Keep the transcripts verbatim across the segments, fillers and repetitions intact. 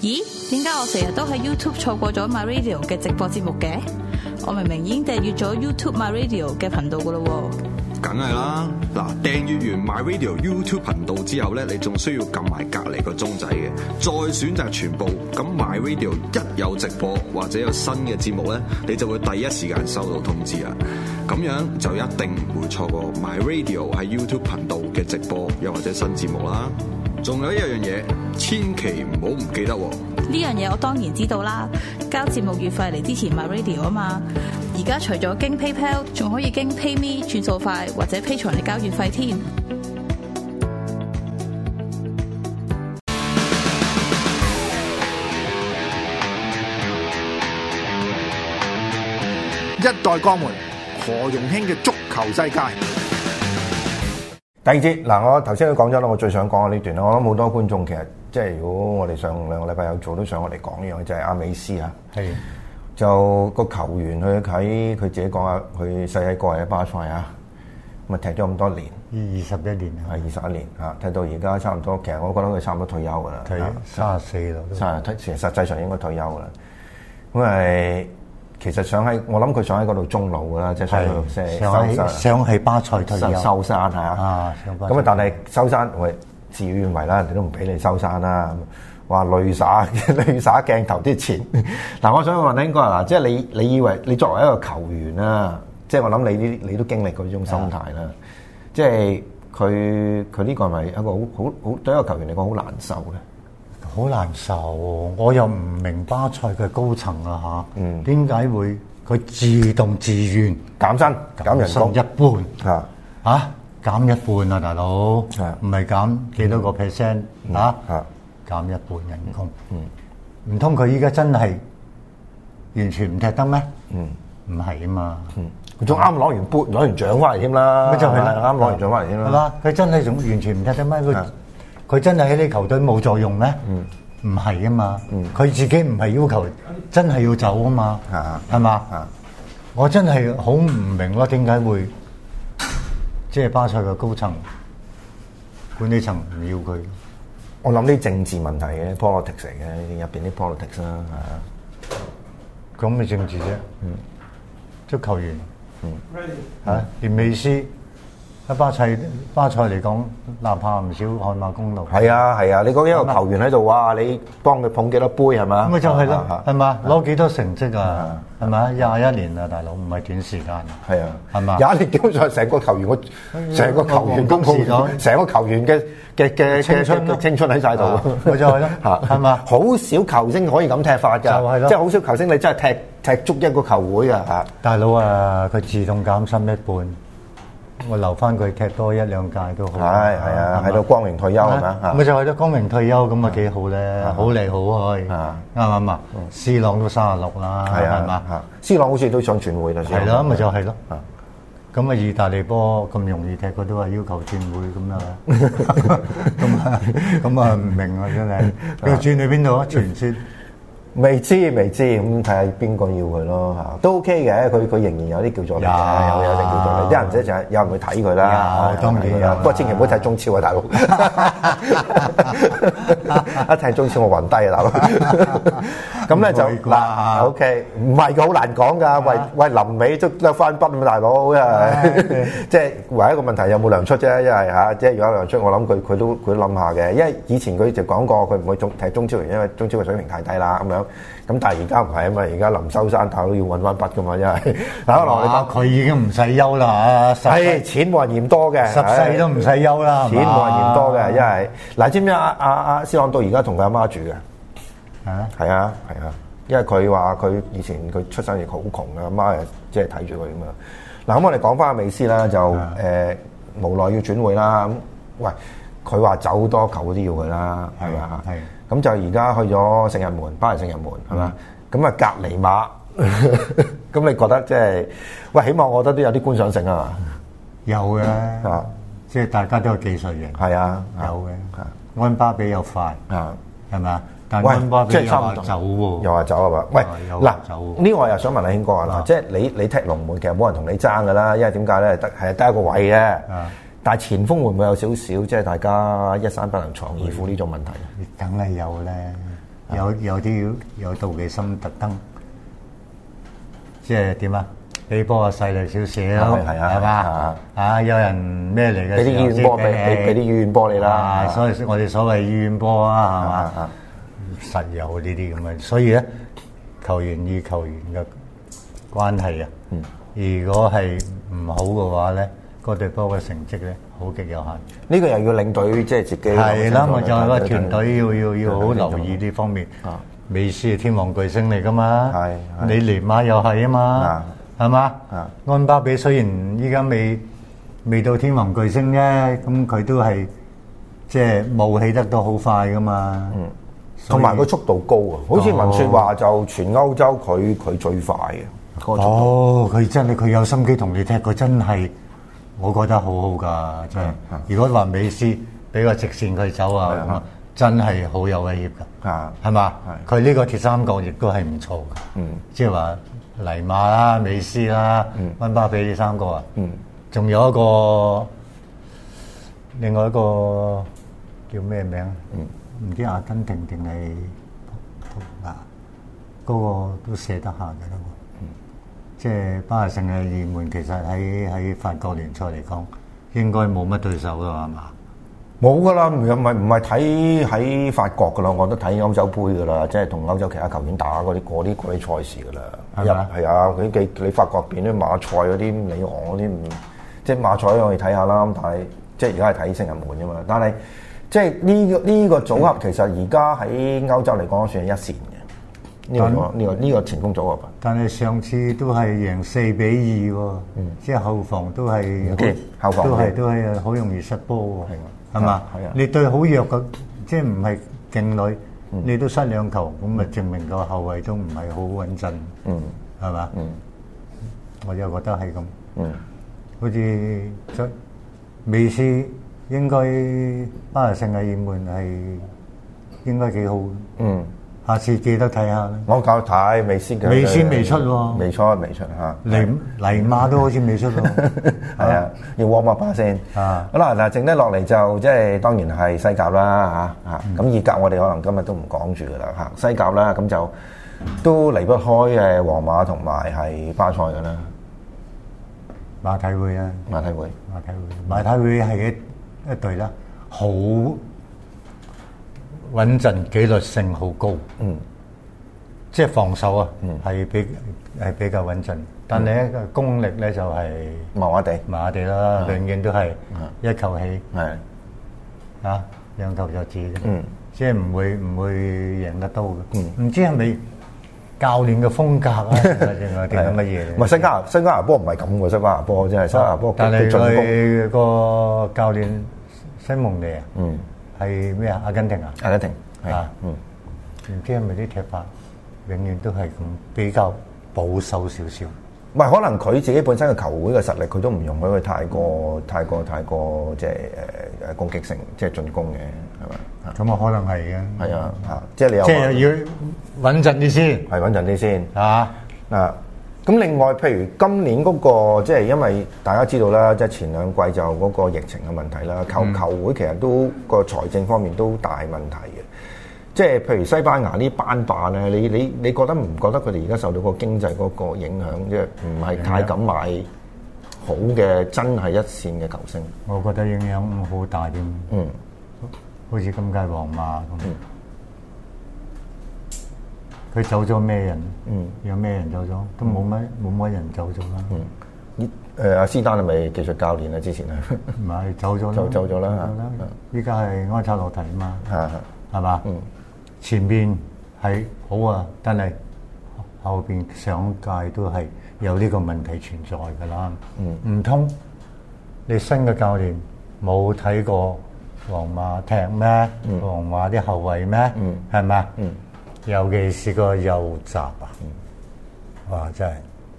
咦？點解我成日都喺 YouTube 錯過咗 My Radio 嘅直播節目嘅？我明明已經訂閱咗 YouTube My Radio 嘅頻道噶咯喎。 梗係啦，嗱，訂閱完 My Radio YouTube 頻道之後咧，你仲需要撳埋隔離個鐘仔嘅，再選擇全部。咁 My Radio 一有直播或者有新嘅節目咧，你就會第一時間收到通知啦。咁樣就一定唔會錯過 My Radio 喺 YouTube 頻道嘅直播又或者新節目啦。仲有一樣嘢，千祈唔好唔記得喎。 呢樣嘢我當然知道啦，交節目月費嚟支持 My Radio 啊嘛。而家除咗經 PayPal， 仲可以經 PayMe 轉數快或者 Patreon嚟交月費添。 一代鋼門何容興嘅足球世界。 第二節嗱，我頭先都講咗啦，我最想講嘅呢段啦，我諗好多觀眾其實即係如果我哋上兩個禮拜有做，都想我哋講呢樣，就係、是、阿美斯啊。係就個球員去睇佢自己講啊，佢細細個喺巴塞啊，咁啊踢咗咁多年， 二十一年係二十一年啊，踢到而家差唔多，其實我覺得佢差唔多退休噶啦， 退三十四啦， 三十其實實際上應該退休噶啦，咁係。其實想喺，我諗佢想喺嗰度終老噶啦，即係想去即係收山， 想喺巴塞退休收山係啊。咁啊，但係收山，喂，事與願違啦，人哋都唔俾你收山啦。話淚灑淚灑鏡頭啲錢。嗱，我想問應該嗱，即係你你以為你作為一個球員啦，即係我諗你啲你都經歷過呢種心態啦。即係佢佢呢個係咪一個好好好對一個球員嚟講好難受咧？ 好難受，我又唔明巴塞嘅高層啊嚇，點解、嗯、會佢自動自願減薪減人工一半啊嚇減一半啊大佬，唔係減幾多個 percent 啊減一半人工，唔通佢依家真係完全唔踢得咩？唔係啊嘛， 佢仲啱攞完杯攞完獎翻嚟添啦， 咪就係啱攞完獎翻嚟添啦， 係嘛？佢真係仲完全唔踢得咩？佢佢真係喺呢球隊冇作用咩？唔係啊嘛，佢、嗯、自己唔係要求真係要走啊嘛，係嘛？我真係好唔明咯，點解會即係巴塞嘅高層管理層唔要佢？ 我諗啲政治問題嘅 politics 嚟嘅，入邊啲 politics 啦，係啊， 咁咪政治啫，嗯，足球員，嗯，嚇、啊，連美斯。喺巴塞巴塞嚟講，哪怕唔少汗馬功勞。係啊係啊，你講一個球員喺度，哇！你幫佢捧幾多杯係嘛？ 咁咪就係咯，係嘛？攞幾多成績啊？係咪？廿一年啊，大佬唔係短時間。係啊，係嘛？ 廿一年基本上成個球員，我成個球員都冇，成個球員嘅嘅嘅青春青春喺晒度。 咪就係咯，係嘛？ 好少球星可以咁踢法㗎，就係咯，即係好少球星你真係踢踢足一個球會啊！嚇， 大佬啊，佢自動減薪一半。我留翻佢踢多一兩屆都好。 係係啊，喺度光榮退休係嘛？ 咪就係咯，光榮退休咁啊幾好咧，好嚟好去，啱唔啱啊？C朗都三十六啦，係嘛 ？C朗好似都想轉會啦， 係咯，咪就係咯。咁啊，意大利波咁容易踢，佢都話要求轉會咁啊，咁啊，咁啊唔明啊真係。佢轉去邊度啊？傳説。 未知未知，咁睇下邊個要佢咯嚇，都 OK 嘅。佢佢仍然有啲叫做力嘅，有有啲叫做力。啲人者就係有人去睇佢啦， 當然有。 不過千祈唔好睇中超啊，大佬！一睇中超我暈低啊，大佬！咁咧就嗱 ，OK， 唔係嘅，好難講㗎。喂喂，臨尾都得翻筆啊，大佬！因為即係唯一一個問題有冇糧出啫，因為嚇，即係如果有糧出，我諗佢佢都佢都諗下嘅。因為以前佢就講過，佢唔會中踢中超，因為中超嘅水平太低啦咁樣。咁但係而家唔係啊嘛，而家臨收山，大佬要揾翻筆噶嘛，因為打落去佢已經唔使休啦嚇， 係錢冇人嫌多嘅， 十世都唔使休啦， 錢冇人嫌多嘅，因為嗱，知唔知阿阿阿斯朗到而家同佢阿媽住嘅？啊，係啊係啊，因為佢話佢以前佢出生亦好窮嘅，阿媽誒即係睇住佢咁樣。嗱咁我哋講翻阿美斯啦，就誒無奈要轉會啦。咁喂，佢話走好多球都要佢啦，係咪啊？係。咁就而家去咗聖日門，巴黎聖日門係嘛？咁啊隔離馬，咁你覺得即係喂？起碼我覺得都有啲觀賞性啊嘛。 有嘅，啊，即係大家都有技術型。係啊，有嘅。安巴比又快，啊，係咪啊？但係安巴比又話走喎， 又話走係嘛？喂，嗱，呢個我又想問阿興哥啊，嗱，即係你你踢龍門其實冇人同你爭㗎啦，因為點解咧？得係得一個位嘅。但係前鋒會唔會有少少即係大家一山不能藏二虎呢種問題？ 梗係有咧， 有有啲有妒忌心，特登即係點啊？俾波啊細力少少， 係啊， 係嘛？啊，有人咩嚟嘅？ 俾啲醫院波，俾俾俾啲醫院波你啦。 所以我哋所謂醫院波啊，係嘛？實有呢啲咁嘅，所以咧球員與球員嘅關係啊，如果係唔好嘅話咧，嗰隊波嘅成績咧好極有限。 呢個又要領隊即係自己係啦，咪就係個團隊要要要好留意呢方面。美斯係天王巨星嚟噶嘛，你尼馬又係啊嘛。係嘛？安巴比雖然依家未未到天王巨星啫，咁佢都係即係冒起得都好快噶嘛。嗯， 同埋個速度高啊！好似文説話就全歐洲佢佢最快嘅。 哦，佢真係佢有心機同你踢，佢真係我覺得好好㗎，真係。如果話美斯俾個直線佢走啊，咁啊真係好有威脅㗎。啊，係嘛？佢呢個鐵三角亦都係唔錯㗎。嗯，即係話。尼馬啦、美斯啦、溫巴比呢三個啊，仲、嗯、有一個，另外一個叫咩名？唔、嗯、知阿根廷定係啊？嗰、那個都射得下嘅啦喎。嗯、即係巴黎聖日耳門，其實喺喺法國聯賽嚟講，應該冇乜對手㗎係嘛？ 冇噶啦，唔係唔係睇喺法國噶啦，我都睇歐洲杯噶啦，即係同歐洲其他球員打嗰啲嗰啲嗰啲賽事噶啦。係啊，係啊，佢你你法國邊啲馬賽嗰啲、里昂嗰啲，即係馬賽我哋睇下啦。但係即係而家係睇聖日門啫嘛。但係即係呢個呢個組合其實而家喺歐洲嚟講算係一線嘅。呢、這個呢、這個呢、這個前鋒組合。但係上次都係贏四比二喎，嗯、即係後防都係 okay, 後防都係都係好容易失波喎。係嘛？係啊！你對好弱嘅，即係唔係勁旅，你都失兩球，咁咪證明個後衞都唔係好穩陣。嗯，係嘛？嗯，我又覺得係咁。嗯，好似美斯應該巴黎聖日耳門係應該幾好。嗯。下次記得睇下。我教睇美斯嘅。美斯未出喎。未出未出嚇。尼尼馬都好似未出喎。係啊，要 warm up 先。啊。好啦，嗱，剩低落嚟就即係當然係西甲啦嚇嚇。咁意甲我哋可能今日都唔講住噶啦嚇。西甲啦，咁就都離不開誒皇馬同埋係巴塞噶啦。馬體會啊。馬體會。馬體會。馬體會係一一隊啦，好穩陣，紀律性好高，嗯，即係防守啊，嗯，係比係比較穩陣，但係咧功力咧就係麻麻地，麻麻地啦，永遠都係一球起，係啊，兩球就止，嗯，即係唔會唔會贏得到嘅，嗯，唔知係咪教練嘅風格啊，定係定係乜嘢？唔係西加西加拿波唔係咁嘅，西加拿波真係西加拿波，但係佢個教練西蒙尼啊，嗯。係咩啊？阿根廷啊？阿根廷啊，嗯，唔知係咪啲踢法永遠都係咁比較保守少少？唔係，可能佢自己本身嘅球會嘅實力，佢都唔容許佢太過、太過、太過即係誒誒攻擊性，即係進攻嘅，係咪？咁啊，可能係嘅。係啊，嚇，即係你有即係要穩陣啲先，係穩陣啲先嚇啊！咁另外，譬如今年嗰個即係因為大家知道啦，即係前兩季就嗰個疫情嘅問題啦，球球會其實都個財政方面都大問題嘅。即係譬如西班牙呢班霸咧，你你你覺得唔覺得佢哋而家受到個經濟嗰個影響，即係唔係太敢買好嘅真係一線嘅球星？我覺得影響好大添。嗯，好似今屆皇馬咁。嗯佢走咗咩人？嗯，有咩人走咗？都冇乜冇乜人走咗啦。嗯，誒阿斯丹係咪技術教練啊？之前係唔係走咗啦？走走咗啦。依家係安察洛提啊嘛。係係嘛？嗯，前邊係好啊，但係後邊上屆都係有呢個問題存在㗎啦。嗯，唔通你新嘅教練冇睇過皇馬踢咩？皇馬啲後衞咩？嗯，係咪？嗯。尤其是個右閘啊！哇，真係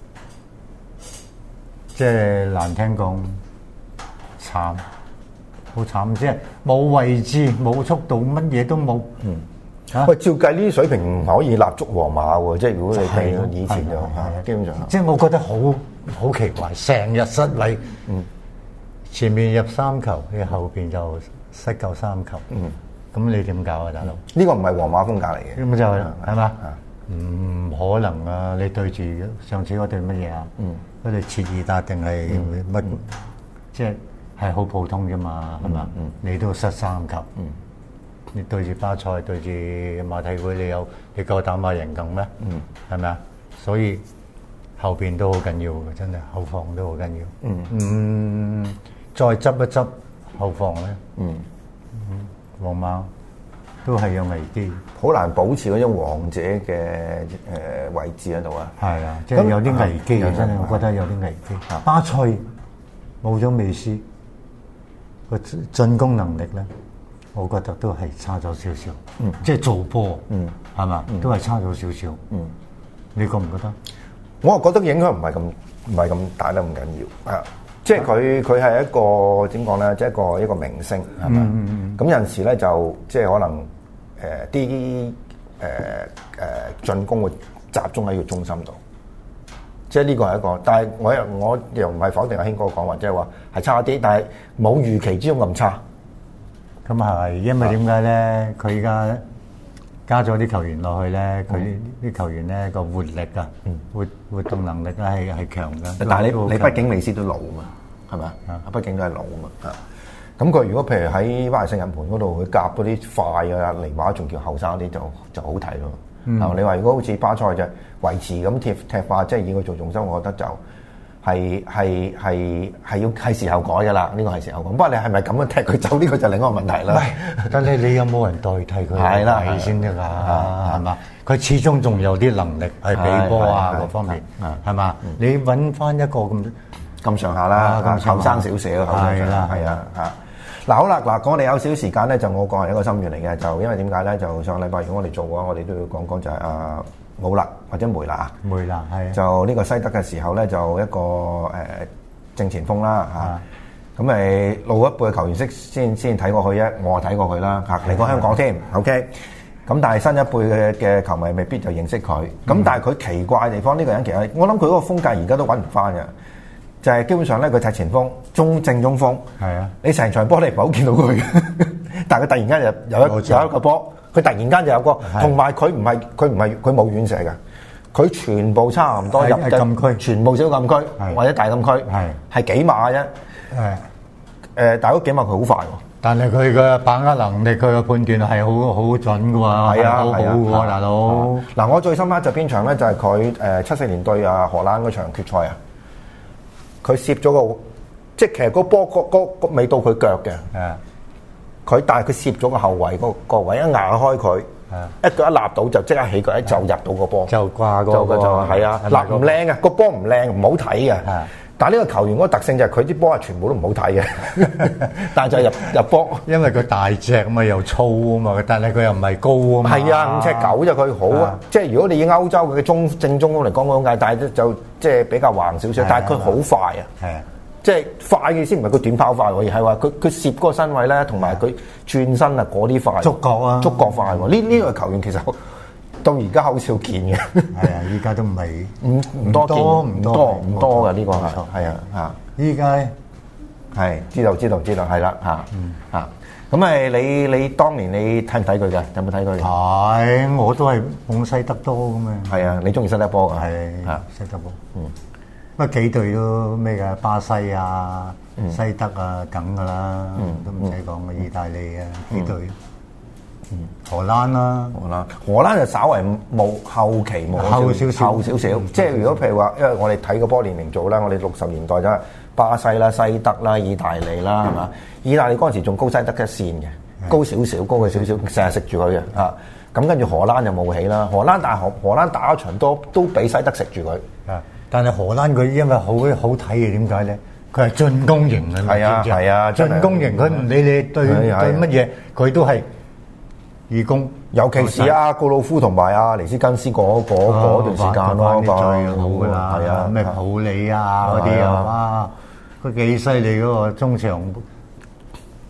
即係難聽講慘，好慘！即係冇位置、冇速度，乜嘢都冇。嗯，嚇喂，照計呢啲水平唔可以立足皇馬喎。即係如果你睇以前就嚇，基本上即係我覺得好好奇怪，成日失禮。嗯，前面入三球，你後邊就失夠三球。嗯。 咁你點搞啊，大佬？ 呢個唔係皇馬風格嚟嘅， 咁就係係嘛？唔可能啊！你對住上次嗰隊乜嘢啊？嗰隊切爾達定係乜？即係係好普通啫嘛，係嘛？你都失三級。你對住巴塞，對住馬體會，你有你夠膽馬贏更咩？係咪啊？所以後邊都好緊要嘅，真係後防都好緊要。嗯，再執一執後防咧，嗯，皇馬都係有危機， 好難保持嗰種王者嘅誒位置喺度啊。 係啊，即係有啲危機啊！真係，我覺得有啲危機。巴塞冇咗美斯個進攻能力咧。我覺得都係差咗少少，嗯，即係做波，嗯，係嘛，都係差咗少少，嗯，你覺唔覺得？ 我又覺得影響唔係咁唔係咁大得咁緊要，啊，即係佢佢係一個點講咧，即係一個一個明星，係嘛，咁有陣時咧就即係可能誒啲誒誒進攻會集中喺個中心度，即係呢個係一個，但係我又我又唔係否定阿興哥講話，即係話係差啲，但係冇預期之中咁差。 咁係，因為點解咧？佢而家加咗啲球員落去咧，佢啲球員咧個活力啊，活活動能力咧係係強嘅。 但係你你畢竟美斯都老啊嘛，係咪啊？畢竟都係老啊嘛。咁佢如果譬如喺巴黎聖日門嗰度，佢夾嗰啲快啊，尼馬仲叫後生啲，就就好睇咯。啊，你話如果好似巴塞就維持咁踢踢法，即係以佢做重心，我覺得就。係係係係要係時候改㗎啦，呢個係時候改。不過你係咪咁樣踢佢走？呢個就另一個問題啦。 但係你有冇人代替佢？係啦，係先得㗎，係嘛？佢始終仲有啲能力係比波啊各方面，係嘛？你揾翻一個咁咁上下啦，後生少少，係啦，係啊嚇。嗱好啦，嗱我哋有少少時間咧，就我個係一個心願嚟嘅，就因為點解咧？就上個禮拜如果我哋做嘅話，我哋都要講講就係啊。冇啦，或者梅拿， 梅拿係就呢個西德嘅時候咧，就一個誒、呃、正前鋒啦嚇。咁咪老一輩嘅球員識先先睇過佢啫，我睇過佢啦嚇，嚟過香港添。OK，咁但係新一輩嘅嘅球迷未必就認識佢。咁、嗯、但係佢奇怪嘅地方，呢、呢個人其實我諗佢嗰個風格而家都揾唔翻嘅，就係、是、基本上咧佢踢前鋒、中正中鋒。係啊，你成場波你唔係好見到佢，但係佢突然間有有一有一個波。佢突然間就有個，同埋佢唔係佢唔係佢冇遠射嘅，佢全部差唔多入禁區，全部小禁區或者大禁區，係係幾碼啫。係誒，但係嗰幾碼佢好快喎。但係佢嘅把握能力，佢嘅判斷係好好準嘅喎，係啊，好好嘅喎，大佬。嗱，我最深刻就邊場咧？就係佢誒七四年對啊荷蘭嗰場決賽啊，佢攝咗個，即係其實個波個個個未到佢腳嘅。係。佢但係佢攝咗個後衞個個位一壓開佢，一腳一立到就即刻起腳，一就入到個波，就掛個波，係啊，立唔靚啊，個波唔靚，唔好睇嘅。但係呢個球員嗰個特性就係佢啲波係全部都唔好睇嘅，但係就入入波，因為佢大隻啊嘛，又粗啊嘛，但係佢又唔係高啊嘛。係啊，五尺九就佢好啊，即係如果你以歐洲嘅中正中鋒嚟講嗰種界，但係就即係比較橫少少，但係佢好快啊。係啊。即係快嘅先唔係佢短跑快喎，而係話佢佢攝嗰個身位咧，同埋佢轉身啊嗰啲快，觸覺啊，觸覺快喎。呢呢個球員其實到而家好少見嘅。係啊，依家都唔係唔唔多見，唔多唔多嘅呢個係係啊嚇。依家係知道知道知道係啦嚇嚇。咁誒你你當年你睇唔睇佢嘅？有冇睇佢？係，我都係捧西德多咁嘅。係啊，你中意西德波㗎？係嚇西德波。嗯。乜幾隊都咩㗎？巴西啊、嗯、西德啊，梗㗎啦，嗯、都唔使講嘅。意大利啊，幾隊？嗯、荷蘭啦、啊，荷蘭荷蘭就稍為冇後期冇後少少，後少少。嗯、即係如果譬如話，因為我哋睇個波年齡組啦，我哋六十年代就係巴西啦、西德啦、意大利啦，係嘛、嗯？意大利嗰陣時仲高西德一線嘅，嗯、高少少，高佢少少，成日食住佢嘅啊。咁跟住荷蘭就冇起啦，荷蘭但係荷荷蘭打一場多都俾西德食住佢啊。但係荷蘭佢因為好好睇嘅，點解咧？佢係進攻型嘅，係啊係啊，進攻型佢唔理你對對乜嘢，佢都係義攻。尤其是阿告魯夫同埋阿尼斯根斯嗰嗰嗰段時間咯，最好㗎啦，係啊，咩普里啊嗰啲啊，哇！佢幾犀利嗰個中場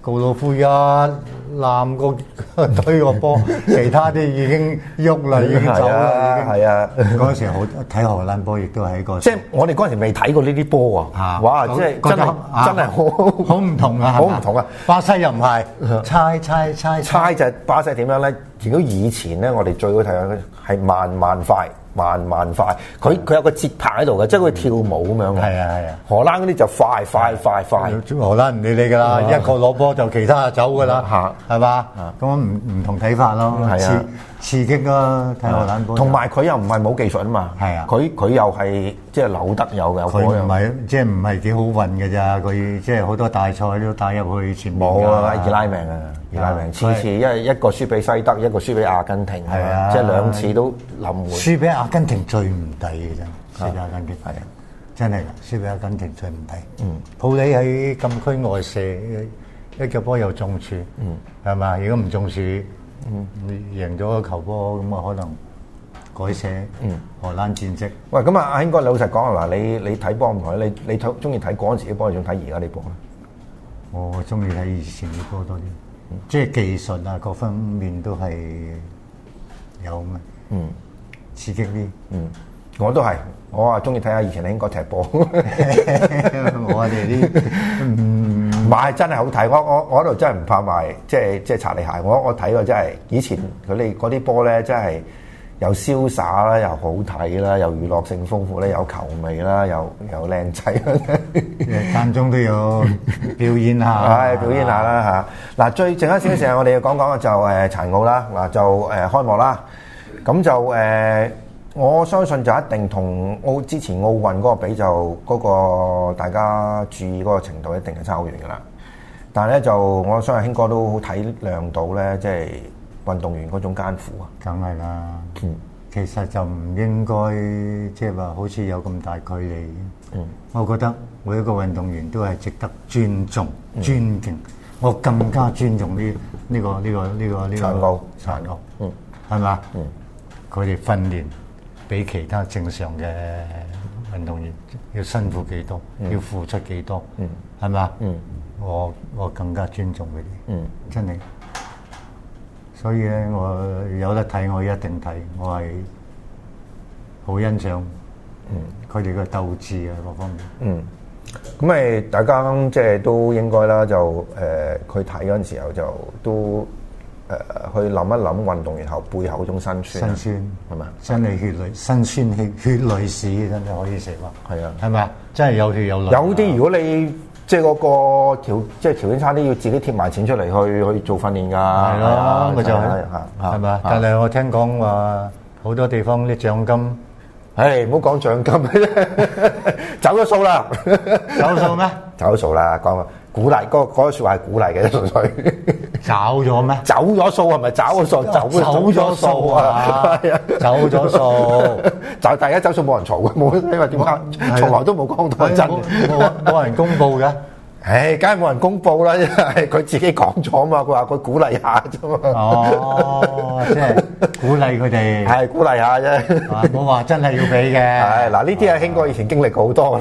告魯夫一攬個推個波，其他啲已經喐啦，已經走啦， 係啊！ 嗰陣時好睇荷蘭波，亦都係一個即係我哋嗰陣時未睇過呢啲波啊！哇！即係真係真係好好唔同啊！ 好唔同啊！ 巴西又唔係猜猜猜猜就係巴西點樣咧？如果以前咧，我哋最好睇嘅係慢慢快。慢慢快，佢佢有個節拍喺度嘅，即係佢跳舞咁樣嘅。 係啊係啊， 荷蘭嗰啲就快快快快。 荷蘭唔理你㗎啦，一個攞波就其他就走㗎啦，係嘛？咁唔唔同睇法咯，刺刺激咯，睇荷蘭波。 同埋佢又唔係冇技術啊嘛。係啊，佢佢又係即係扭得有嘅。 佢唔係即係唔係幾好運嘅咋？佢即係好多大賽都帶入去前面。 冇啊，易拉命啊！易拉命，次次一一個輸俾西德，一個輸俾阿根廷，係啊，即係兩次都冧會。輸俾阿根廷最唔抵嘅真，輸俾阿根廷係啊，真係㗎，輸俾阿根廷最唔抵。嗯，普里喺禁區外射一腳波又中柱，嗯，係嘛？如果唔中柱，嗯，你贏咗個球波咁啊，可能改寫嗯荷蘭戰績。 喂，咁啊，阿興哥，老實講啊，嗱，你你睇波唔同，你你睇中意睇嗰陣時啲波，仲睇而家啲波咧？ 我中意睇以前啲波多啲。即係技術啊，各方面都係有咩？嗯，刺激啲。 嗯，我都係，我啊中意睇下以前興哥踢波。 我哋啲唔係真係好睇，我我我嗰度真係唔怕賣，即係即係擦你鞋。我我睇過真係以前佢哋嗰啲波咧，真係又瀟灑啦，又好睇啦，又娛樂性豐富咧，有球味啦，又又靚仔， 間中都有表演下， 係表演下啦嚇。嗱，最剩一少少時間，我哋要講講嘅就誒殘奧啦。嗱就誒開幕啦，咁就誒我相信就一定同奧之前奧運嗰個比就嗰個大家注意嗰個程度一定係差好遠㗎啦。但係咧就我相信興哥都好體諒到咧，即係運動員嗰種艱苦啊， 梗係啦。嗯，其實就唔應該即係話好似有咁大距離。嗯，我覺得每一個運動員都係值得尊重、嗯、尊敬。我更加尊重呢呢個呢個呢個呢個殘奧殘奧。 嗯， 係嘛？ 嗯， 佢哋訓練比其他正常嘅運動員要辛苦幾多，嗯、要付出幾多。嗯，係嘛？嗯，我我更加尊重佢哋。嗯，真係。所以咧，我有得睇，我一定睇。我係好欣賞，嗯，佢哋嘅鬥志啊，各方面。 嗯，咁咪大家即係都應該啦，就誒佢睇嗰陣時候就都誒、呃、去諗一諗運動員後背後嗰種辛酸。 辛酸係咪？ 真係血淚辛酸血血淚史，真係可以食話。 係啊， 係咪啊？真係有血有淚。 有啲如果你即係嗰個條，即係條件差啲，要自己貼埋錢出嚟去去做訓練㗎。係咯，咪就係係咪啊？但係我聽講話好多地方啲獎金， 唉，唔好講獎金，走咗數啦， 走咗數咩？ 走咗數啦，講鼓勵，嗰個嗰個説話係鼓勵嘅，純粹。 走咗咩？ 走咗數係咪走咗數？走走咗數啊！係啊，走咗數。 就第一走數冇人嘈嘅，冇因為點解？從來都冇講到真， 冇冇人公佈嘅。 唉，梗係冇人公佈啦，因為佢自己講咗嘛。佢話佢鼓勵下啫嘛。 哦，即係鼓勵佢哋。 係鼓勵下啫。 冇話真係要俾嘅。 係嗱，呢啲係興哥以前經歷過好多。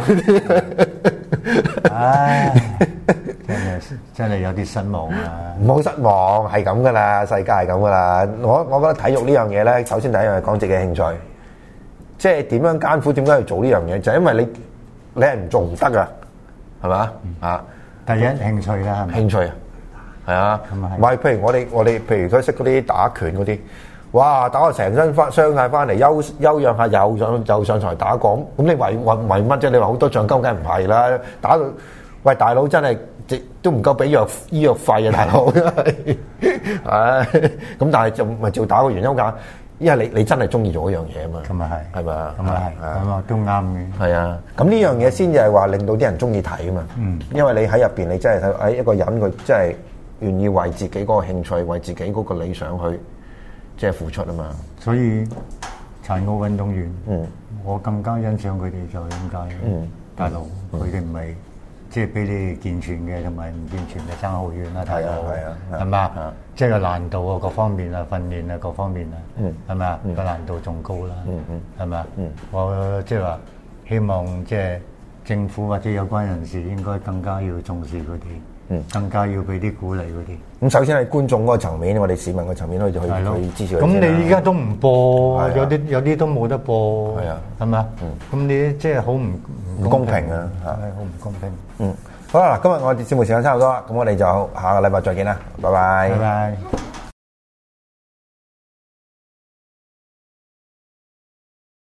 唉。真係真係有啲失望啊！ 唔好失望，係咁噶啦，世界係咁噶啦。我我覺得體育呢樣嘢咧，首先第一樣係講自己興趣，即係點樣艱苦，點解要做呢樣嘢？就係因為你你係唔做唔得噶，係嘛啊？ 第一興趣啦， 興趣啊，係啊，唔係譬如我哋我哋譬如佢識嗰啲打拳嗰啲，哇打到成身翻傷曬翻嚟，休休養下又上又上台打過，咁你為為為乜啫？你話好多獎金梗係唔係啦？打到喂大佬真係〜都唔夠俾藥醫藥費啊，大佬！唉，咁但係就咪照打個原因㗎，因為你你真係中意做嗰樣嘢啊嘛。 咁啊係， 係咪啊？ 咁啊係，咁啊都啱嘅。 係啊，咁呢樣嘢先至係話令到啲人中意睇啊嘛。嗯，因為你喺入邊，你真係睇誒一個人佢真係願意為自己嗰個興趣、為自己嗰個理想去即係付出啊嘛。 所以殘奧運動員，嗯，我更加欣賞佢哋就係點解？嗯，大佬佢哋唔係。即係比你健全嘅同埋唔健全嘅爭好遠啦，睇到係嘛？即係個難度啊，各方面啊，訓練啊，各方面啊，係咪啊？個難度仲高啦，係咪啊？我即係話希望即係政府或者有關人士應該更加要重視佢哋嗯， 更加要俾啲鼓勵嗰啲。 咁首先係觀眾嗰個層面，我哋市民個層面去去去支持佢。 咁你依家都唔播，有啲有啲都冇得播， 係啊， 係咪啊？咁你即係好唔唔公平啊！ 係好唔公平。 嗯，好啦，今日我哋節目時間差唔多啦，咁我哋就下個禮拜再見啦，拜拜。 拜拜。